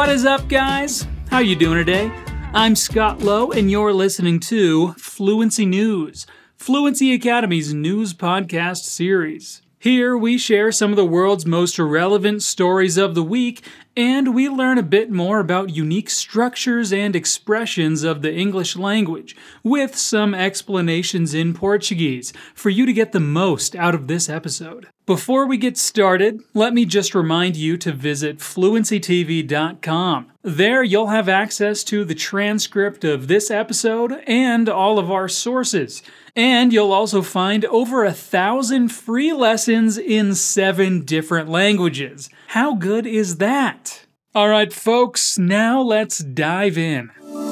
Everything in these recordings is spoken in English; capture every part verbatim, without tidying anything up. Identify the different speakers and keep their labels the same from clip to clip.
Speaker 1: What is up, guys? How you doing today? I'm Scott Lowe, and you're listening to Fluency News, Fluency Academy's news podcast series. Here, we share some of the world's most relevant stories of the week, and we learn a bit more about unique structures and expressions of the English language, with some explanations in Portuguese, for you to get the most out of this episode. Before we get started, let me just remind you to visit fluency t v dot com. There you'll have access to the transcript of this episode and all of our sources. And you'll also find over a thousand free lessons in seven different languages. How good is that? Alright folks, now let's dive in.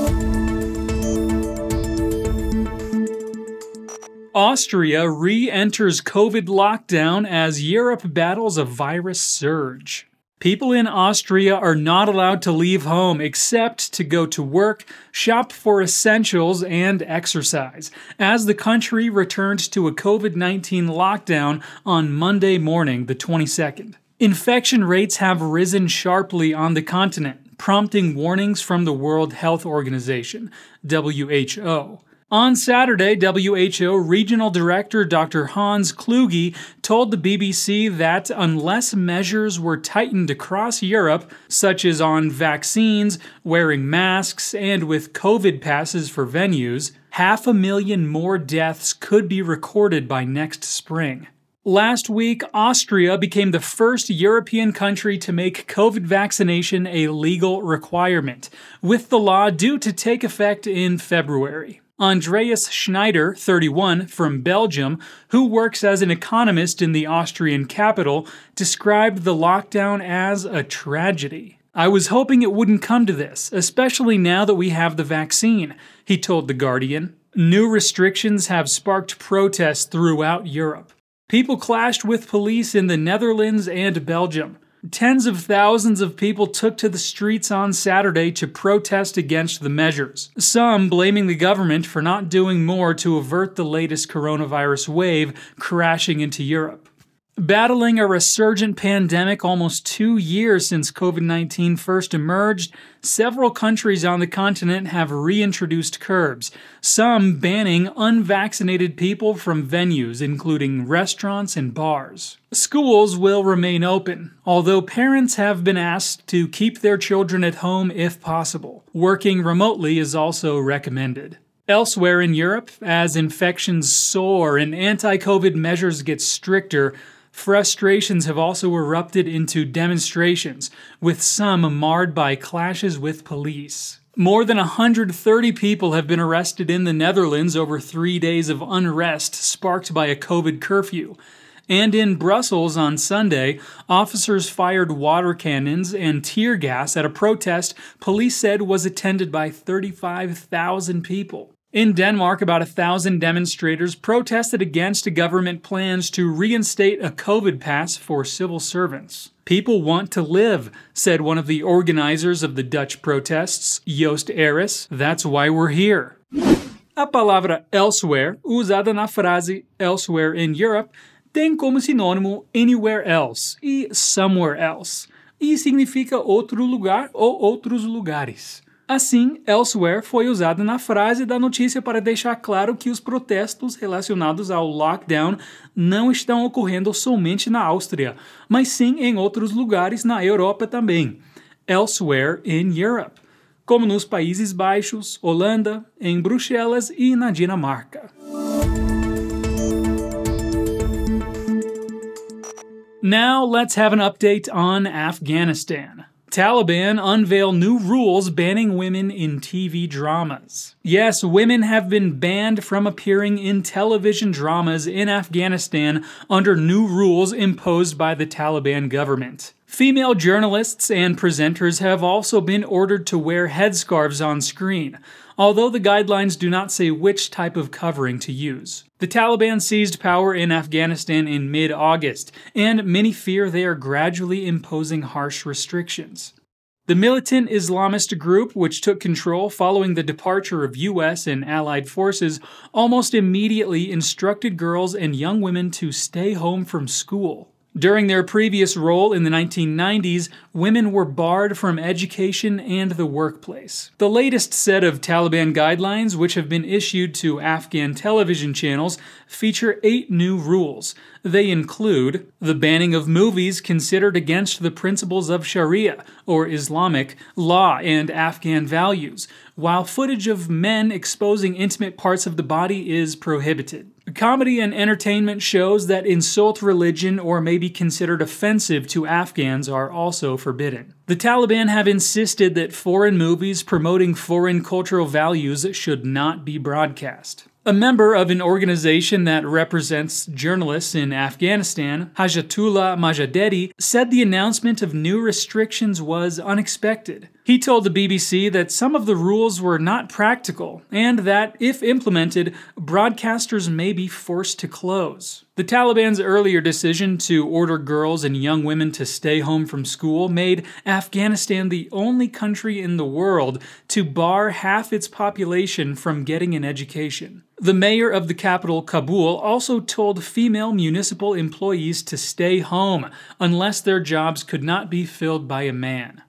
Speaker 1: Austria re-enters COVID lockdown as Europe battles a virus surge. People in Austria are not allowed to leave home except to go to work, shop for essentials, and exercise, as the country returned to a COVID nineteen lockdown on Monday morning, the twenty-second. Infection rates have risen sharply on the continent, prompting warnings from the World Health Organization, W H O. On Saturday, W H O Regional Director Doctor Hans Kluge told the B B C that unless measures were tightened across Europe, such as on vaccines, wearing masks, and with COVID passes for venues, half a million more deaths could be recorded by next spring. Last week, Austria became the first European country to make COVID vaccination a legal requirement, with the law due to take effect in February. Andreas Schneider, thirty-one, from Belgium, who works as an economist in the Austrian capital, described the lockdown as a tragedy. "I was hoping it wouldn't come to this, especially now that we have the vaccine," he told The Guardian. New restrictions have sparked protests throughout Europe. People clashed with police in the Netherlands and Belgium. Tens of thousands of people took to the streets on Saturday to protest against the measures, some blaming the government for not doing more to avert the latest coronavirus wave crashing into Europe. Battling a resurgent pandemic almost two years since COVID nineteen first emerged, several countries on the continent have reintroduced curbs, some banning unvaccinated people from venues, including restaurants and bars. Schools will remain open, although parents have been asked to keep their children at home if possible. Working remotely is also recommended. Elsewhere in Europe, as infections soar and anti-COVID measures get stricter, frustrations have also erupted into demonstrations, with some marred by clashes with police. More than one hundred thirty people have been arrested in the Netherlands over three days of unrest sparked by a COVID curfew. And in Brussels on Sunday, officers fired water cannons and tear gas at a protest police said was attended by thirty-five thousand people. In Denmark, about a thousand demonstrators protested against government plans to reinstate a COVID pass for civil servants. "People want to live," said one of the organizers of the Dutch protests, Joost Aris. "That's why we're here." A palavra elsewhere, usada na frase elsewhere in Europe, tem como sinônimo anywhere else e somewhere else, e significa outro lugar ou outros lugares. Assim, elsewhere foi usada na frase da notícia para deixar claro que os protestos relacionados ao lockdown não estão ocorrendo somente na Áustria, mas sim em outros lugares na Europa também. Elsewhere in Europe, como nos Países Baixos, Holanda, em Bruxelas e na Dinamarca. Now let's have an update on Afghanistan. Taliban unveil new rules banning women in T V dramas. Yes, women have been banned from appearing in television dramas in Afghanistan under new rules imposed by the Taliban government. Female journalists and presenters have also been ordered to wear headscarves on screen, although the guidelines do not say which type of covering to use. The Taliban seized power in Afghanistan in mid-August, and many fear they are gradually imposing harsh restrictions. The militant Islamist group, which took control following the departure of U S and allied forces, almost immediately instructed girls and young women to stay home from school. During their previous role in the nineteen nineties, women were barred from education and the workplace. The latest set of Taliban guidelines, which have been issued to Afghan television channels, feature eight new rules. They include the banning of movies considered against the principles of Sharia, or Islamic, law and Afghan values, while footage of men exposing intimate parts of the body is prohibited. Comedy and entertainment shows that insult religion or may be considered offensive to Afghans are also forbidden. The Taliban have insisted that foreign movies promoting foreign cultural values should not be broadcast. A member of an organization that represents journalists in Afghanistan, Hajatullah Majadedi, said the announcement of new restrictions was unexpected. He told the B B C that some of the rules were not practical, and that, if implemented, broadcasters may be forced to close. The Taliban's earlier decision to order girls and young women to stay home from school made Afghanistan the only country in the world to bar half its population from getting an education. The mayor of the capital, Kabul, also told female municipal employees to stay home unless their jobs could not be filled by a man.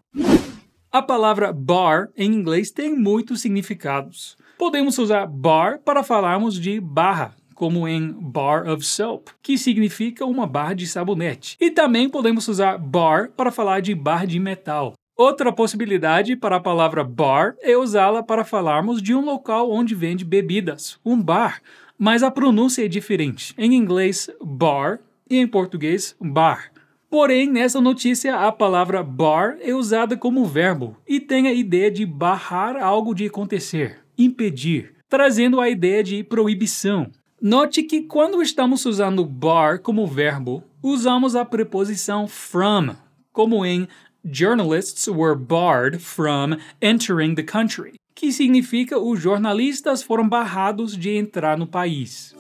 Speaker 1: A palavra bar em inglês tem muitos significados. Podemos usar bar para falarmos de barra, como em bar of soap, que significa uma barra de sabonete. E também podemos usar bar para falar de barra de metal. Outra possibilidade para a palavra bar é usá-la para falarmos de um local onde vende bebidas, um bar, mas a pronúncia é diferente. Em inglês, bar, e em português, bar. Porém, nessa notícia, a palavra bar é usada como verbo e tem a ideia de barrar algo de acontecer, impedir, trazendo a ideia de proibição. Note que quando estamos usando bar como verbo, usamos a preposição from, como em journalists were barred from entering the country, que significa os jornalistas foram barrados de entrar no país.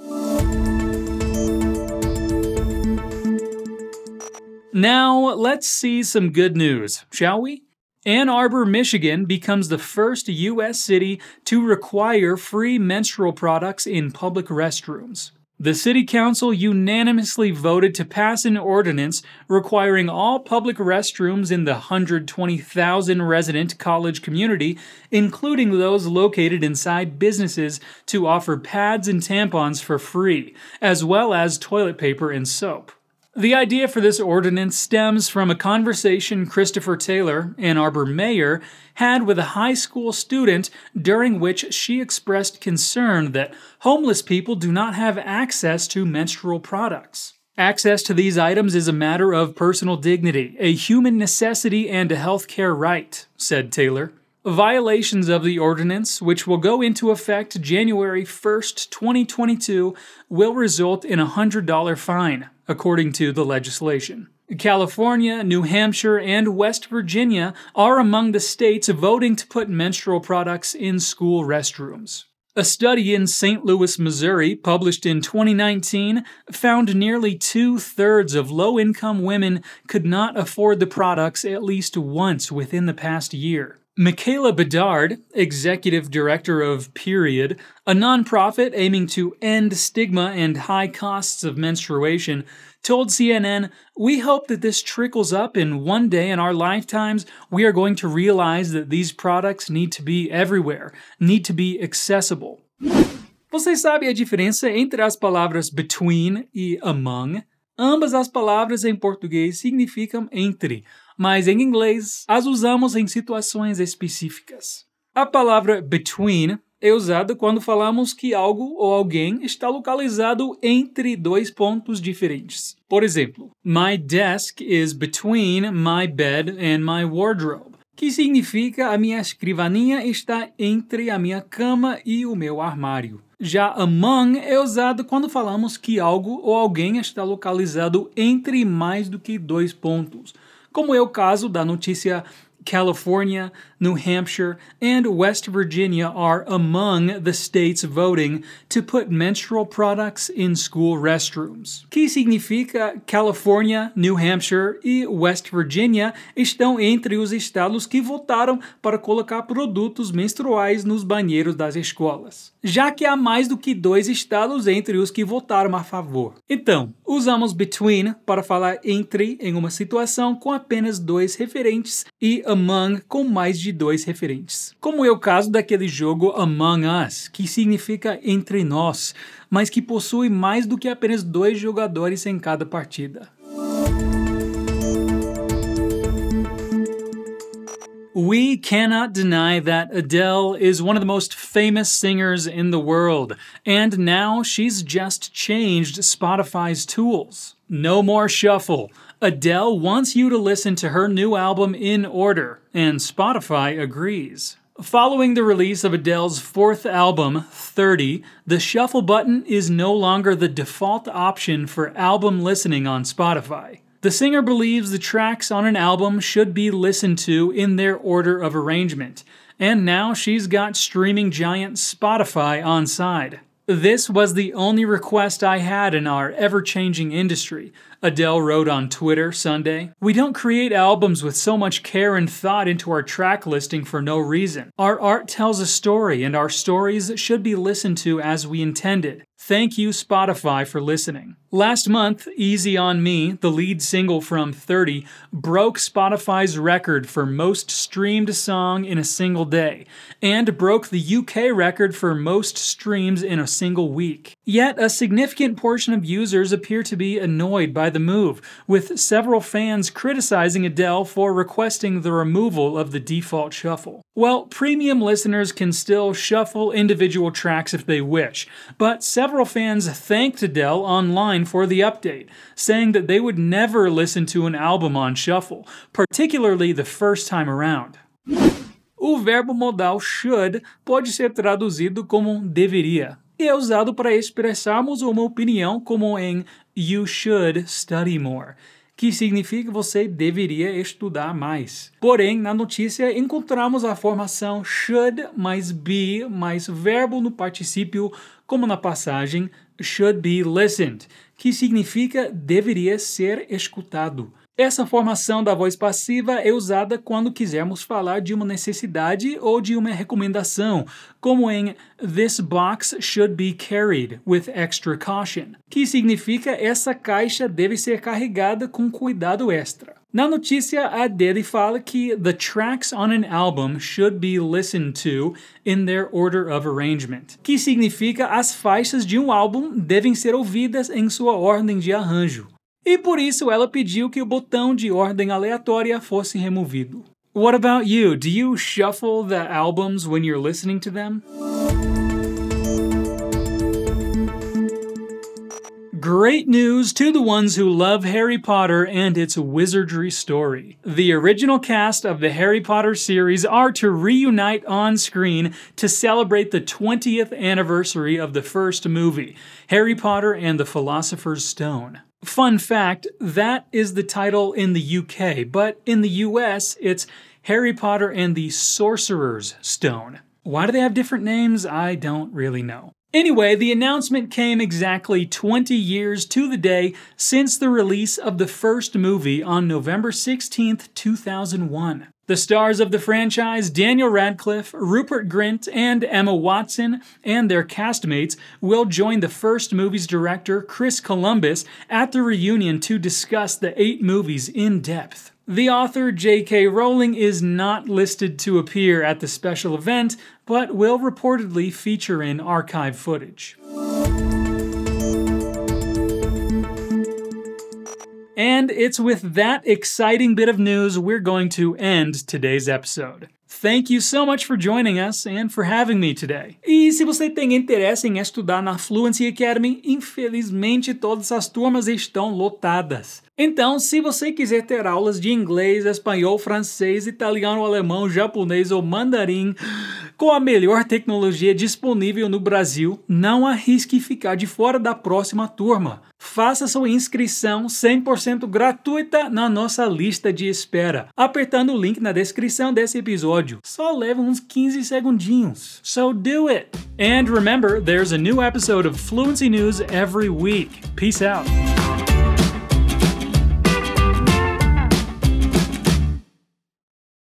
Speaker 1: Now, let's see some good news, shall we? Ann Arbor, Michigan becomes the first U S city to require free menstrual products in public restrooms. The city council unanimously voted to pass an ordinance requiring all public restrooms in the one hundred twenty thousand resident college community, including those located inside businesses, to offer pads and tampons for free, as well as toilet paper and soap. The idea for this ordinance stems from a conversation Christopher Taylor, Ann Arbor mayor, had with a high school student during which she expressed concern that homeless people do not have access to menstrual products. Access to these items is a matter of personal dignity, a human necessity, and a healthcare right, said Taylor. Violations of the ordinance, which will go into effect January first, twenty twenty-two, will result in a one hundred dollars fine, according to the legislation. California, New Hampshire, and West Virginia are among the states voting to put menstrual products in school restrooms. A study in Saint Louis, Missouri, published in twenty nineteen, found nearly two-thirds of low-income women could not afford the products at least once within the past year. Michaela Bedard, executive director of Period, a nonprofit aiming to end stigma and high costs of menstruation, told C N N, "We hope that this trickles up and one day in our lifetimes we are going to realize that these products need to be everywhere, need to be accessible." Você sabe a diferença entre as palavras between e among? Ambas as palavras em português significam entre, mas em inglês as usamos em situações específicas. A palavra between é usada quando falamos que algo ou alguém está localizado entre dois pontos diferentes. Por exemplo, my desk is between my bed and my wardrobe, que significa a minha escrivaninha está entre a minha cama e o meu armário. Já among é usado quando falamos que algo ou alguém está localizado entre mais do que dois pontos, como é o caso da notícia California, New Hampshire, and West Virginia are among the states voting to put menstrual products in school restrooms, que significa California, New Hampshire e West Virginia estão entre os estados que votaram para colocar produtos menstruais nos banheiros das escolas. já que há mais do que dois estados entre os que votaram a favor. Então, usamos between para falar entre em uma situação com apenas dois referentes e among com mais de dois referentes. Como é o caso daquele jogo Among Us, que significa entre nós, mas que possui mais do que apenas dois jogadores em cada partida. We cannot deny that Adele is one of the most famous singers in the world, and now she's just changed Spotify's tools. No more shuffle. Adele wants you to listen to her new album in order, and Spotify agrees. Following the release of Adele's fourth album, thirty, the shuffle button is no longer the default option for album listening on Spotify. The singer believes the tracks on an album should be listened to in their order of arrangement, and now she's got streaming giant Spotify on side. This was the only request I had in our ever-changing industry, Adele wrote on Twitter Sunday. We don't create albums with so much care and thought into our track listing for no reason. Our art tells a story, and our stories should be listened to as we intended. Thank you, Spotify, for listening. Last month, Easy on Me, the lead single from thirty, broke Spotify's record for most streamed song in a single day, and broke the U K record for most streams in a single week. Yet, a significant portion of users appear to be annoyed by the move, with several fans criticizing Adele for requesting the removal of the default shuffle. Well, premium listeners can still shuffle individual tracks if they wish, but several fans thanked Adele online for the update, saying that they would never listen to an album on shuffle, particularly the first time around. O verbo modal should pode ser traduzido como deveria, e é usado para expressarmos uma opinião como em you should study more, que significa que você deveria estudar mais. Porém, na notícia encontramos a formação should mais be mais verbo no particípio, como na passagem should be listened, que significa deveria ser escutado. Essa formação da voz passiva é usada quando quisermos falar de uma necessidade ou de uma recomendação, como em This box should be carried with extra caution, que significa essa caixa deve ser carregada com cuidado extra. Na notícia, a Adele fala que the tracks on an album should be listened to in their order of arrangement, que significa as faixas de um álbum devem ser ouvidas em sua ordem de arranjo. E por isso ela pediu que o botão de ordem aleatória fosse removido. What about you? Do you shuffle the albums when you're listening to them? Great news to the ones who love Harry Potter and its wizardry story. The original cast of the Harry Potter series are to reunite on screen to celebrate the twentieth anniversary of the first movie, Harry Potter and the Philosopher's Stone. Fun fact, that is the title in the U K, but in the U S, it's Harry Potter and the Sorcerer's Stone. Why do they have different names? I don't really know. Anyway, the announcement came exactly twenty years to the day since the release of the first movie on November sixteenth, two thousand one. The stars of the franchise, Daniel Radcliffe, Rupert Grint, and Emma Watson, and their castmates will join the first movie's director, Chris Columbus, at the reunion to discuss the eight movies in depth. The author, J K Rowling, is not listed to appear at the special event, but will reportedly feature in archive footage. And it's with that exciting bit of news we're going to end today's episode. Thank you so much for joining us and for having me today. E se você tem interesse em estudar na Fluency Academy, infelizmente todas as turmas estão lotadas. Então, se você quiser ter aulas de inglês, espanhol, francês, italiano, alemão, japonês ou mandarim com a melhor tecnologia disponível no Brasil, não arrisque ficar de fora da próxima turma. Faça sua inscrição cem por cento gratuita na nossa lista de espera, apertando o link na descrição desse episódio. Só leva uns quinze segundinhos. So do it! And remember, there's a new episode of Fluency News every week. Peace out!